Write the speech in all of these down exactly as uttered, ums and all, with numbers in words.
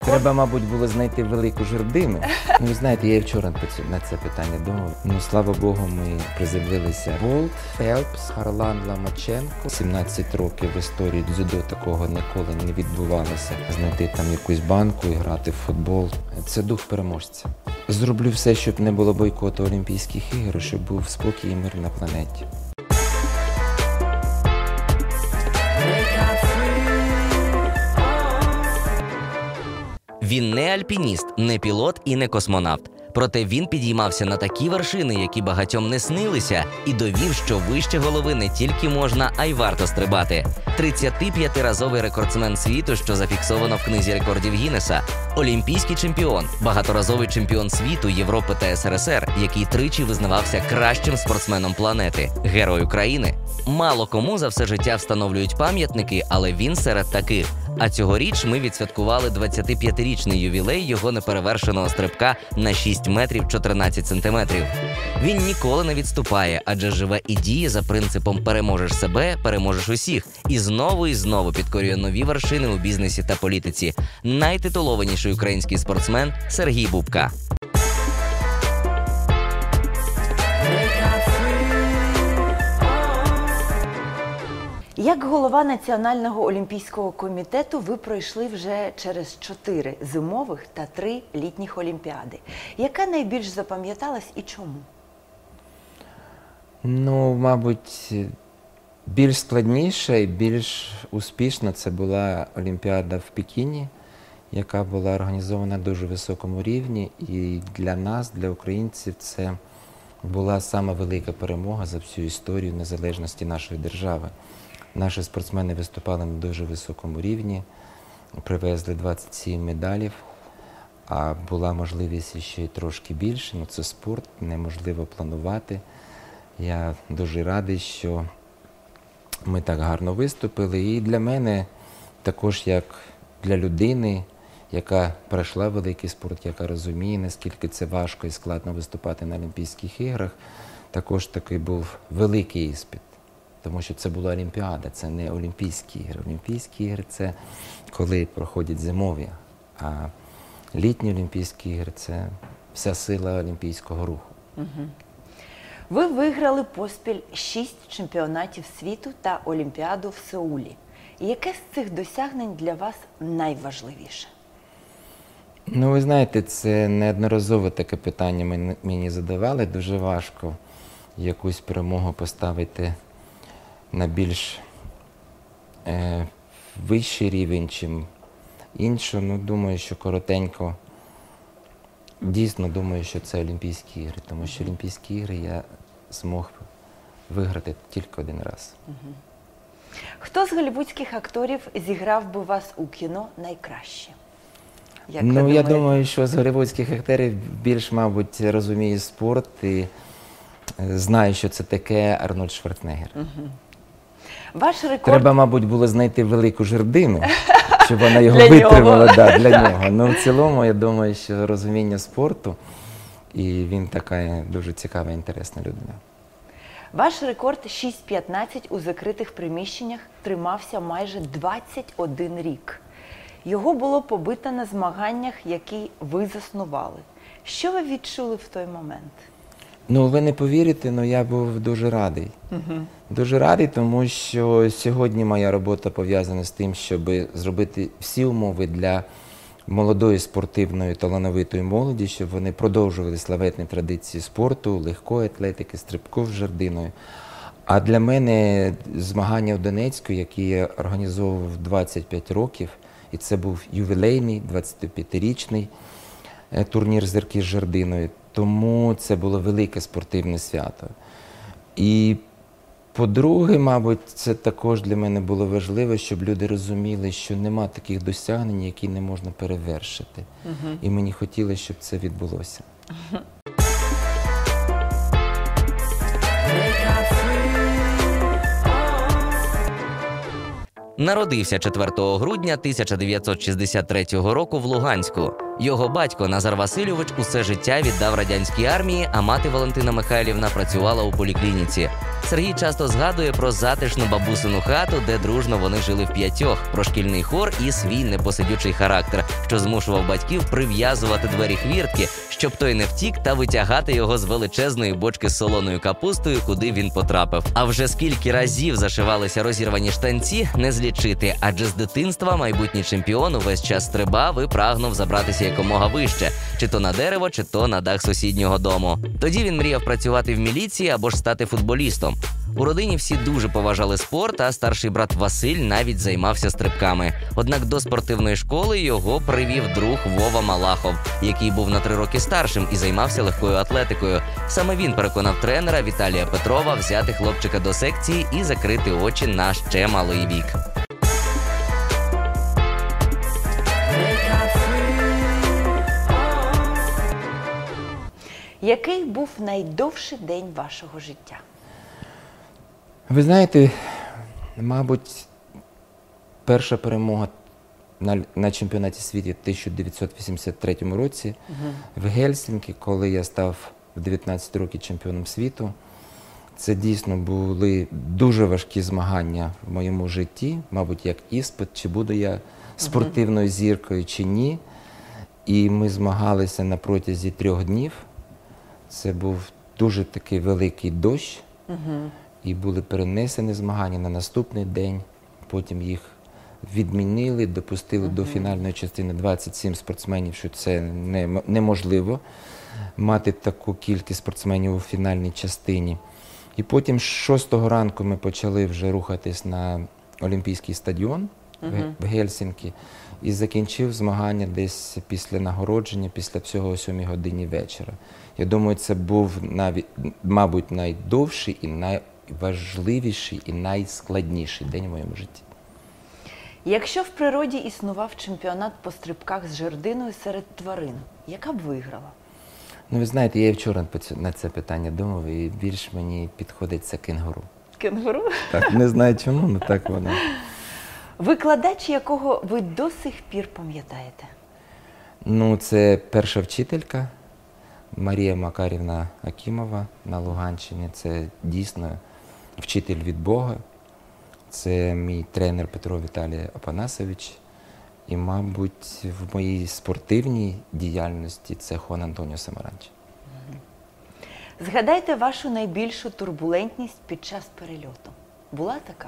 Треба, мабуть, було знайти велику жердину. Ну, ви знаєте, я і вчора на це питання думав. Ну, слава Богу, ми приземлилися. Болт, Фелпс, Харлан Ломаченко. сімнадцять років в історії дзюдо такого ніколи не відбувалося. Знайти там якусь банку і грати в футбол. Це дух переможця. Зроблю все, щоб не було бойкоту Олімпійських ігор, щоб був спокій і мир на планеті. Він не альпініст, не пілот і не космонавт. Проте він підіймався на такі вершини, які багатьом не снилися, і довів, що вище голови не тільки можна, а й варто стрибати. тридцятип'ятиразовий рекордсмен світу, що зафіксовано в книзі рекордів Гіннеса. Олімпійський чемпіон, багаторазовий чемпіон світу, Європи та ес ер ес ер, який тричі визнавався кращим спортсменом планети. Герой України. Мало кому за все життя встановлюють пам'ятники, але він серед таких. А цьогоріч ми відсвяткували двадцятип'ятирічний ювілей його неперевершеного стрибка на шість метрів чотирнадцять сантиметрів. Він ніколи не відступає, адже живе і діє за принципом «переможеш себе, переможеш усіх». І знову і знову підкорює нові вершини у бізнесі та політиці. Найтитулованіший український спортсмен Сергій Бубка. Як голова Національного олімпійського комітету ви пройшли вже через чотири зимових та три літніх олімпіади. Яка найбільш запам'яталась і чому? Ну, мабуть, більш складніша і більш успішна це була Олімпіада в Пекіні, яка була організована на дуже високому рівні. І для нас, для українців, це була сама велика перемога за всю історію незалежності нашої держави. Наші спортсмени виступали на дуже високому рівні, привезли двадцять сім медалів, а була можливість ще й трошки більше. Ну, це спорт, неможливо планувати. Я дуже радий, що ми так гарно виступили. І для мене, також як для людини, яка пройшла великий спорт, яка розуміє, наскільки це важко і складно виступати на Олімпійських іграх, також такий був великий іспит. Тому що це була Олімпіада, це не Олімпійські ігри. Олімпійські ігри – це коли проходять зимові, а літні Олімпійські ігри – це вся сила олімпійського руху. Угу. Ви виграли поспіль шість чемпіонатів світу та Олімпіаду в Сеулі. Яке з цих досягнень для вас найважливіше? Ну, ви знаєте, це неодноразово таке питання мені задавали. Дуже важко якусь перемогу поставити на більш е, вищий рівень, чим іншу. Ну, думаю, що коротенько, дійсно думаю, що це Олімпійські ігри, тому що Олімпійські ігри я змог виграти тільки один раз. Угу. Хто з голлівудських акторів зіграв би вас у кіно найкраще? Як ну, я думаю, що з голлівудських акторів більш, мабуть, розуміє спорт і знає, що це таке Арнольд Шварценеггер. Угу. Ваш рекорд... Треба, мабуть, було знайти велику жердину, щоб вона його витримала. Да, для нього. Ну, в цілому, я думаю, що розуміння спорту, і він така дуже цікава, інтересна людина. Ваш рекорд шість п'ятнадцять у закритих приміщеннях тримався майже двадцять один рік. Його було побито на змаганнях, які ви заснували. Що ви відчули в той момент? Ну, ви не повірите, але я був дуже радий. Угу. Дуже радий, тому що сьогодні моя робота пов'язана з тим, щоб зробити всі умови для молодої спортивної талановитої молоді, щоб вони продовжували славетні традиції спорту, легкої атлетики, стрибку з жердиною. А для мене змагання в Донецьку, які я організовував двадцять п'ять років, і це був ювілейний, двадцятип'ятирічний турнір «Зірки з жердиною», тому це було велике спортивне свято. І по-друге, мабуть, це також для мене було важливо, щоб люди розуміли, що нема таких досягнень, які не можна перевершити. Угу. І мені хотілося, щоб це відбулося. Угу. Народився четвертого грудня тисяча дев'ятсот шістдесят третього року в Луганську. Його батько Назар Васильович усе життя віддав радянській армії, а мати Валентина Михайлівна працювала у поліклініці. Сергій часто згадує про затишну бабусину хату, де дружно вони жили вп'ятьох, про шкільний хор і свій непосидючий характер, що змушував батьків прив'язувати двері хвіртки, щоб той не втік, та витягати його з величезної бочки з солоною капустою, куди він потрапив. А вже скільки разів зашивалися розірвані штанці, не злічити, адже з дитинства майбутній чемпіон увесь час стрибав і прагнув забратися якомога вище, чи то на дерево, чи то на дах сусіднього дому. Тоді він мріяв працювати в міліції або ж стати футболістом. У родині всі дуже поважали спорт, а старший брат Василь навіть займався стрибками. Однак до спортивної школи його привів друг Вова Малахов, який був на три роки старшим і займався легкою атлетикою. Саме він переконав тренера Віталія Петрова взяти хлопчика до секції і закрити очі на ще малий вік. Який був найдовший день вашого життя? Ви знаєте, мабуть, перша перемога на, на чемпіонаті світу в тисяча дев'ятсот вісімдесят третьому році угу. в Гельсінкі, коли я став в дев'ятнадцять років чемпіоном світу. Це дійсно були дуже важкі змагання в моєму житті, мабуть, як іспит, чи буду я спортивною зіркою, чи ні. І ми змагалися на протязі трьох днів. Це був дуже такий великий дощ. Угу. І були перенесені змагання на наступний день, потім їх відмінили, допустили uh-huh. до фінальної частини двадцять сім спортсменів, що це не, неможливо мати таку кількість спортсменів у фінальній частині. І потім з шостого ранку ми почали вже рухатись на Олімпійський стадіон uh-huh. в Гельсінкі і закінчив змагання десь після нагородження, після всього о сьомій годині вечора. Я думаю, це був, навіть, мабуть, найдовший і най важливіший і найскладніший день в моєму житті. Якщо в природі існував чемпіонат по стрибках з жердиною серед тварин, яка б виграла? Ну, ви знаєте, я і вчора на це питання думав, і більш мені підходить це кенгуру. Кенгуру? Так, не знаю чому, але так воно. Викладач, якого ви до сих пір пам'ятаєте? Ну, це перша вчителька Марія Макарівна Акімова на Луганщині. Це дійсно вчитель від Бога. Це мій тренер Петро Віталій Апанасович. І, мабуть, в моїй спортивній діяльності це Хуан Антоніо Самаранч. Згадайте вашу найбільшу турбулентність під час перельоту. Була така?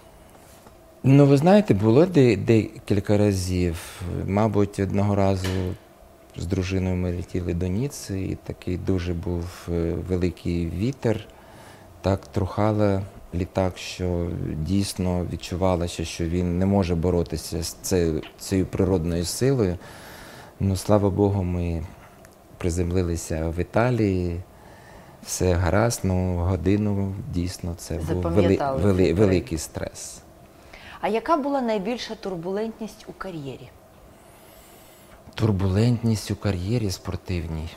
Ну, ви знаєте, було декілька разів. Мабуть, одного разу з дружиною ми летіли до Ніцци, і такий дуже був великий вітер. Так трухало літак, що дійсно відчувалося, що він не може боротися з цією, цією природною силою. Ну, слава Богу, ми приземлилися в Італії, все гаразд, ну, годину дійсно це був вели, вели, великий стрес. А яка була найбільша турбулентність у кар'єрі? Турбулентність у кар'єрі спортивній?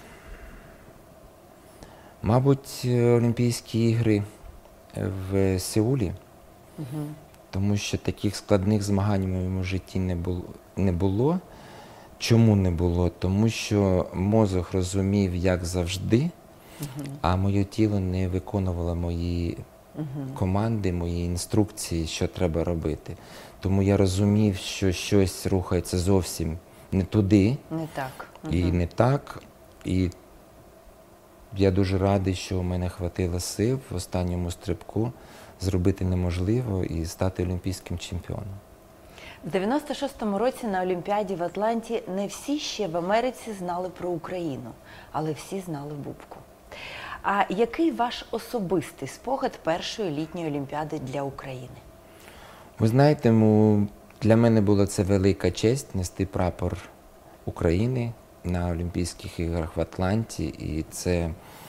Мабуть, Олімпійські ігри в Сеулі, угу. тому що таких складних змагань в моєму житті не було. Не було. Чому не було? Тому що мозок розумів, як завжди, угу. а моє тіло не виконувало мої угу. команди, мої інструкції, що треба робити. Тому я розумів, що щось рухається зовсім не туди, не так. Угу. і не так. І я дуже радий, що у мене хватило сил в останньому стрибку зробити неможливо і стати олімпійським чемпіоном. В дев'яносто шостому році на Олімпіаді в Атланті не всі ще в Америці знали про Україну, але всі знали Бубку. А який ваш особистий спогад першої літньої Олімпіади для України? Ви знаєте, для мене була це велика честь нести прапор України на Олімпійських іграх в Атланті. І це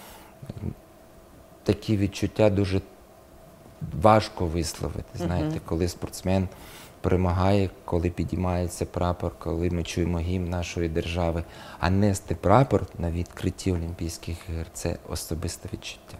такі відчуття дуже важко висловити. Знаєте, uh-huh. коли спортсмен перемагає, коли підіймається прапор, коли ми чуємо гімн нашої держави. А нести прапор на відкритті Олімпійських ігор – це особисте відчуття.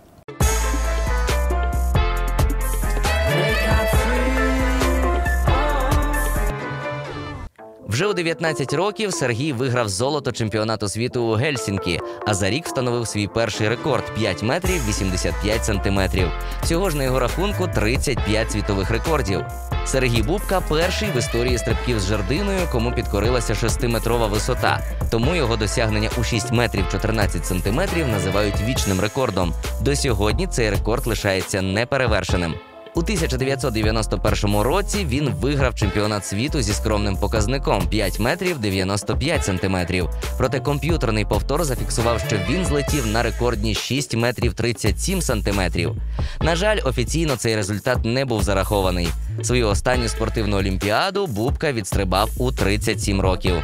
Вже у дев'ятнадцять років Сергій виграв золото чемпіонату світу у Гельсінкі, а за рік встановив свій перший рекорд – п'ять метрів вісімдесят п'ять сантиметрів. Всього ж на його рахунку тридцять п'ять світових рекордів. Сергій Бубка – перший в історії стрибків з жердиною, кому підкорилася шестиметрова висота. Тому його досягнення у шість метрів чотирнадцять сантиметрів називають вічним рекордом. До сьогодні цей рекорд лишається неперевершеним. У тисяча дев'ятсот дев'яносто першому році він виграв чемпіонат світу зі скромним показником – п'ять метрів дев'яносто п'ять сантиметрів. Проте комп'ютерний повтор зафіксував, що він злетів на рекордні шість метрів тридцять сім сантиметрів. На жаль, офіційно цей результат не був зарахований. Свою останню спортивну олімпіаду Бубка відстрибав у тридцять сім років.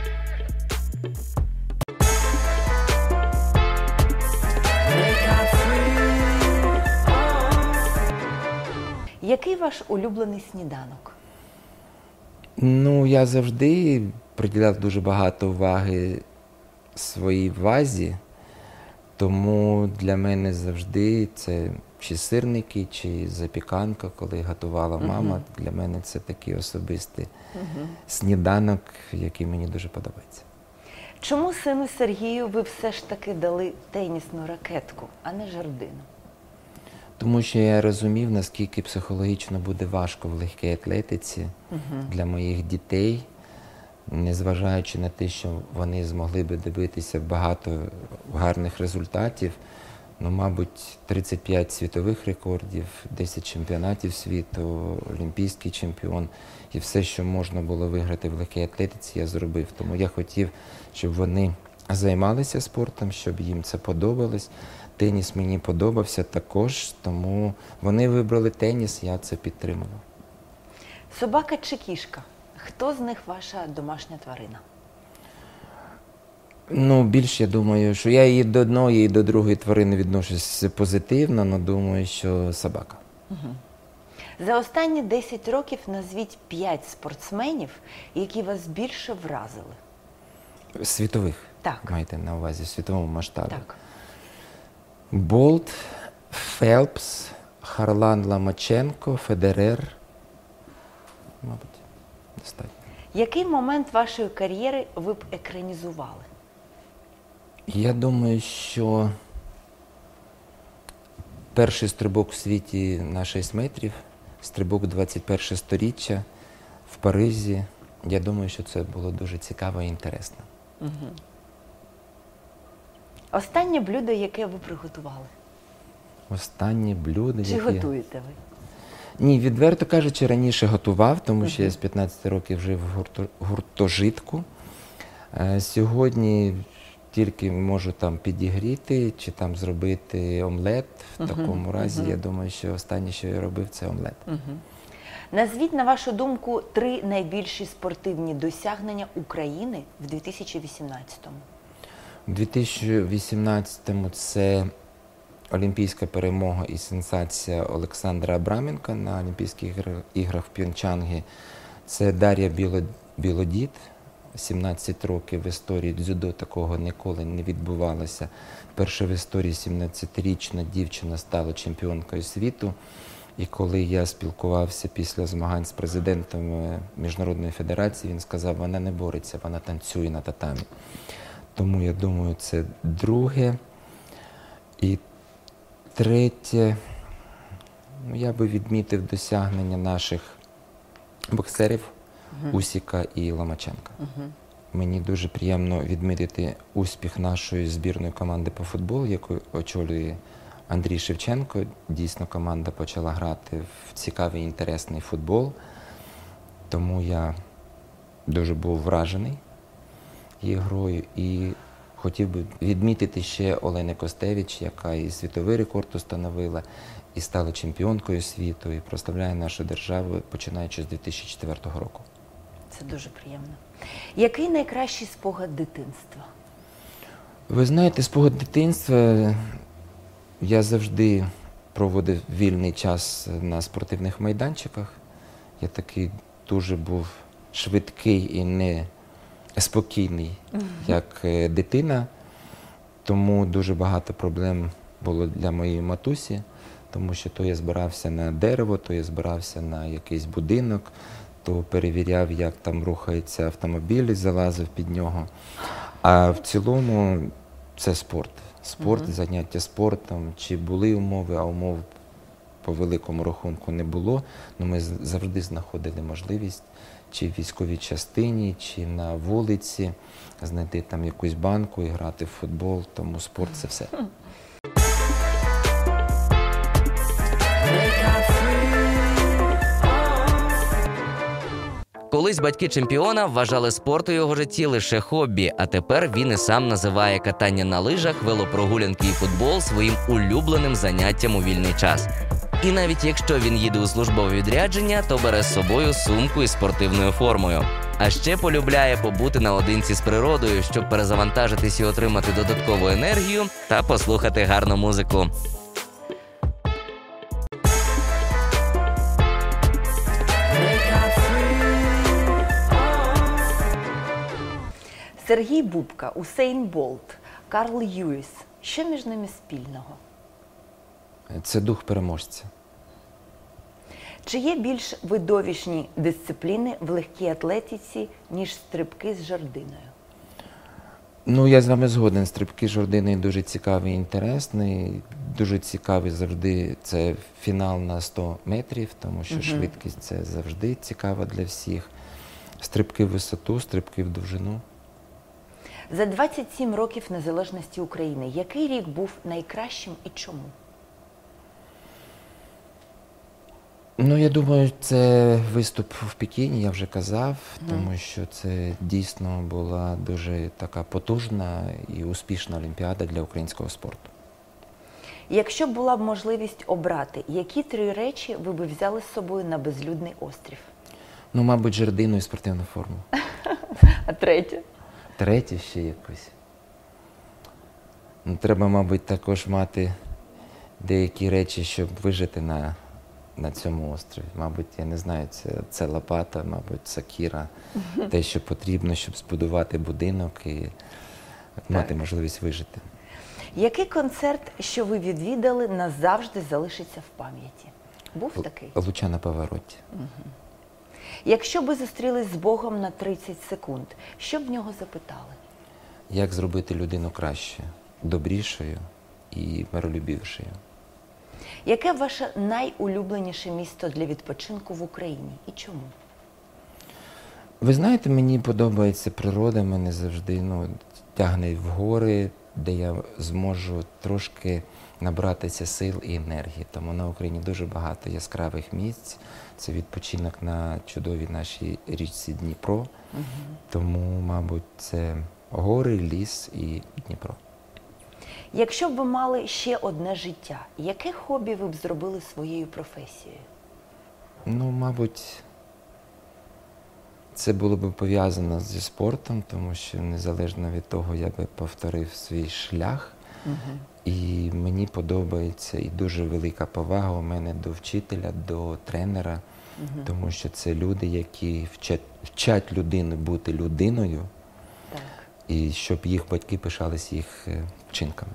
Який ваш улюблений сніданок? Ну, я завжди приділяв дуже багато уваги своїй вазі, тому для мене завжди це чи сирники, чи запіканка, коли готувала мама. Uh-huh. Для мене це такий особистий uh-huh. сніданок, який мені дуже подобається. Чому сину Сергію ви все ж таки дали тенісну ракетку, а не жердину? Тому що я розумів, наскільки психологічно буде важко в легкій атлетиці uh-huh. для моїх дітей, незважаючи на те, що вони змогли би добитися багато гарних результатів. Ну, мабуть, тридцять п'ять світових рекордів, десять чемпіонатів світу, олімпійський чемпіон. І все, що можна було виграти в легкій атлетиці, я зробив. Тому я хотів, щоб вони займалися спортом, щоб їм це подобалось. Теніс мені подобався також, тому вони вибрали теніс, я це підтримував. Собака чи кішка? Хто з них ваша домашня тварина? Ну, більш, я думаю, що я і до одної, і до другої тварини відношусь позитивно, але думаю, що собака. Угу. За останні десять років назвіть п'ять спортсменів, які вас більше вразили. Світових? Так. Маєте на увазі, в світовому масштабі? Так. Болт, Фелпс, Харлан Ломаченко, Федерер. Мабуть, достатньо. Який момент вашої кар'єри ви б екранізували? Я думаю, що перший стрибок в світі на шість метрів, стрибок двадцять перше сторіччя в Парижі, я думаю, що це було дуже цікаво і інтересно. Угу. Останнє блюдо, яке ви приготували? Останнє блюдо, Чи яке... готуєте ви? Ні, відверто кажучи, раніше готував, тому що uh-huh. я з п'ятнадцяти років жив в гурто... гуртожитку. Е, сьогодні тільки можу там підігріти чи там зробити омлет. В uh-huh. такому разі, uh-huh. я думаю, що останнє, що я робив, це омлет. Uh-huh. Назвіть, на вашу думку, три найбільші спортивні досягнення України в дві тисячі вісімнадцятому. У дві тисячі вісімнадцятому це олімпійська перемога і сенсація Олександра Абраменка на Олімпійських іграх в П'йончангі. Це Дар'я Біло... Білодід, сімнадцять років в історії дзюдо такого ніколи не відбувалося. Перша в історії сімнадцятирічна дівчина стала чемпіонкою світу. І коли я спілкувався після змагань з президентом Міжнародної федерації, він сказав, вона не бореться, вона танцює на татамі. Тому, я думаю, це друге. І третє, ну, я би відмітив досягнення наших боксерів uh-huh. Усіка і Ломаченка. Uh-huh. Мені дуже приємно відмітити успіх нашої збірної команди по футболу, яку очолює Андрій Шевченко. Дійсно, команда почала грати в цікавий, інтересний футбол. Тому я дуже був вражений її грою. І хотів би відмітити ще Олену Костевич, яка і світовий рекорд установила, і стала чемпіонкою світу, і прославляє нашу державу, починаючи з дві тисячі четвертого року. Це дуже приємно. Який найкращий спогад дитинства? Ви знаєте, спогад дитинства, я завжди проводив вільний час на спортивних майданчиках. Я такий дуже був швидкий і не спокійний, як дитина, тому дуже багато проблем було для моєї матусі, тому що то я збирався на дерево, то я збирався на якийсь будинок, то перевіряв, як там рухається автомобіль, і залазив під нього. А в цілому це спорт. Спорт, Мгм. заняття спортом. Чи були умови, а умов по великому рахунку не було. Ну, ми з- завжди знаходили можливість чи в військовій частині, чи на вулиці знайти там якусь банку і грати в футбол. Тому спорт – це все. Колись батьки чемпіона вважали спорт у його житті лише хобі, а тепер він і сам називає катання на лижах, велопрогулянки і футбол своїм улюбленим заняттям у вільний час. І навіть якщо він їде у службове відрядження, то бере з собою сумку із спортивною формою. А ще полюбляє побути наодинці з природою, щоб перезавантажитись і отримати додаткову енергію та послухати гарну музику. Сергій Бубка, Усейн Болт, Карл Льюіс. Що між ними спільного? Це дух переможця. Чи є більш видовищні дисципліни в легкій атлетиці, ніж стрибки з жердиною? Ну, я з вами згоден. Стрибки з жердиною дуже цікавий і інтересний. Дуже цікавий завжди це фінал на сто метрів, тому що Мгм. швидкість – це завжди цікаво для всіх. Стрибки в висоту, стрибки в довжину. За двадцять сім років незалежності України який рік був найкращим і чому? Ну, я думаю, це виступ в Пекіні, я вже казав, тому що це дійсно була дуже така потужна і успішна олімпіада для українського спорту. Якщо б була б можливість обрати, які три речі ви б взяли з собою на безлюдний острів? Ну, мабуть, жердину і спортивну форму. А третє? Третє ще якось. Ну, треба, мабуть, також мати деякі речі, щоб вижити на, на цьому острові. Мабуть, я не знаю, це, це лопата, мабуть, сокира, те, що потрібно, щоб збудувати будинок і мати можливість вижити. Який концерт, що ви відвідали, назавжди залишиться в пам'яті? Був такий? Луча на повороті. Якщо б ви зустрілись з Богом на тридцять секунд, що б в нього запитали? Як зробити людину краще, добрішою і миролюбівшою? Яке ваше найулюбленіше місто для відпочинку в Україні і чому? Ви знаєте, мені подобається природа, мене завжди ну, тягне в гори, де я зможу трошки набратися сил і енергії. Тому на Україні дуже багато яскравих місць. Це відпочинок на чудовій нашій річці Дніпро. Угу. Тому, мабуть, це гори, ліс і Дніпро. Якщо б ви мали ще одне життя, яке хобі ви б зробили своєю професією? Ну, мабуть, це було б пов'язано зі спортом, тому що незалежно від того, я би повторив свій шлях. Угу. І мені подобається і дуже велика повага у мене до вчителя, до тренера, Угу. тому що це люди, які вчать, вчать людину бути людиною, Так. і щоб їх батьки пишались їх е, вчинками.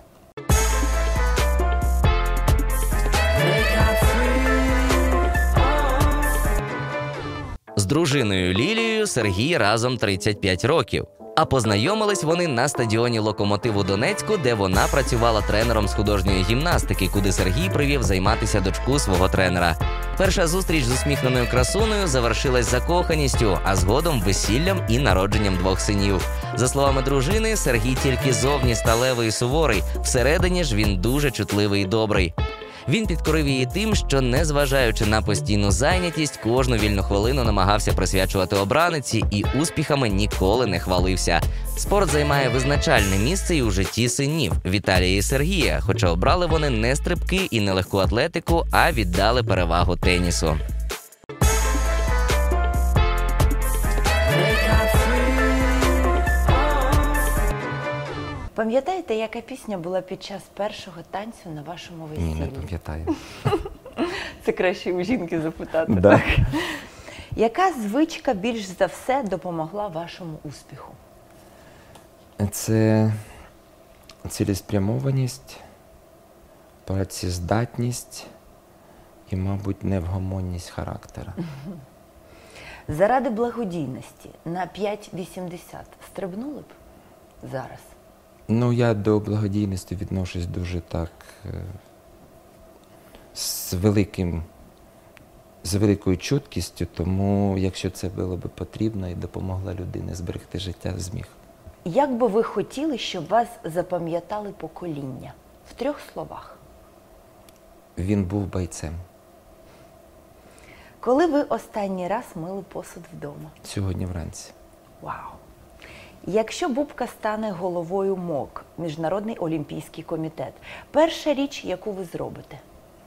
З дружиною Лілією Сергій разом тридцять п'ять років. А познайомились вони на стадіоні «Локомотив» у Донецьку, де вона працювала тренером з художньої гімнастики, куди Сергій привів займатися дочку свого тренера. Перша зустріч з усміхненою красунею завершилась закоханістю, а згодом весіллям і народженням двох синів. За словами дружини, Сергій тільки зовні сталевий і суворий, всередині ж він дуже чутливий і добрий. Він підкорив її тим, що, незважаючи на постійну зайнятість, кожну вільну хвилину намагався присвячувати обраниці і успіхами ніколи не хвалився. Спорт займає визначальне місце і у житті синів Віталія і Сергія, хоча обрали вони не стрибки і не легку атлетику, а віддали перевагу тенісу. Пам'ятаєте, яка пісня була під час першого танцю на вашому весіллі? Ні, не пам'ятаю. Це краще у жінки запитати. Да. Так? Яка звичка більш за все допомогла вашому успіху? Це цілеспрямованість, працездатність і, мабуть, невгомонність характера. заради благодійності на п'ять вісімдесят стрибнули б зараз? Ну, я до благодійності відношусь дуже так е, з великим, з великою чуткістю, тому якщо це було б потрібно і допомогла людині зберегти життя, зміг. Як би ви хотіли, щоб вас запам'ятали покоління? В трьох словах. Він був бойцем. Коли ви останній раз мили посуд вдома? Сьогодні вранці. Вау! Якщо Бубка стане головою МОК, Міжнародний олімпійський комітет, перша річ, яку ви зробите?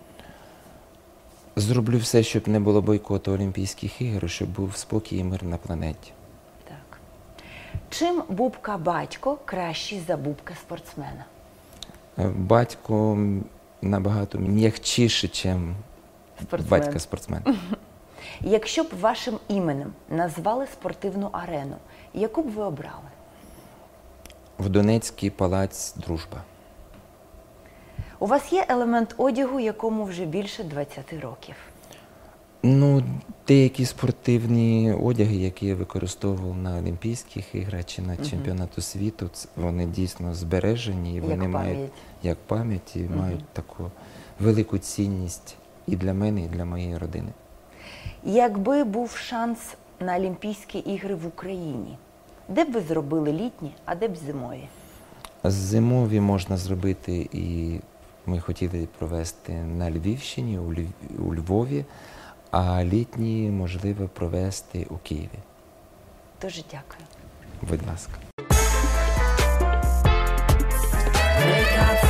Зроблю все, щоб не було бойкоту Олімпійських ігор, щоб був спокій і мир на планеті. Так. Чим Бубка-батько кращий за Бубка-спортсмена? Е, Батько набагато м'якчіше, ніж Спортсмен. батько-спортсмен. Якщо б вашим іменем назвали спортивну арену, яку б ви обрали? В Донецький палац «Дружба». У вас є елемент одягу, якому вже більше двадцяти років. Ну, деякі спортивні одяги, які я використовував на Олімпійських іграх чи на чемпіонату світу, ц- вони дійсно збережені, і Як вони мають пам'ять. як пам'ять і Мгм. мають таку велику цінність і для мене, і для моєї родини. Якби був шанс на Олімпійські ігри в Україні, де б ви зробили літні, а де б зимові? Зимові можна зробити, і ми хотіли провести на Львівщині, у Льв- у Львові, а літні можливо провести у Києві. Дуже дякую. Будь ласка. Wake up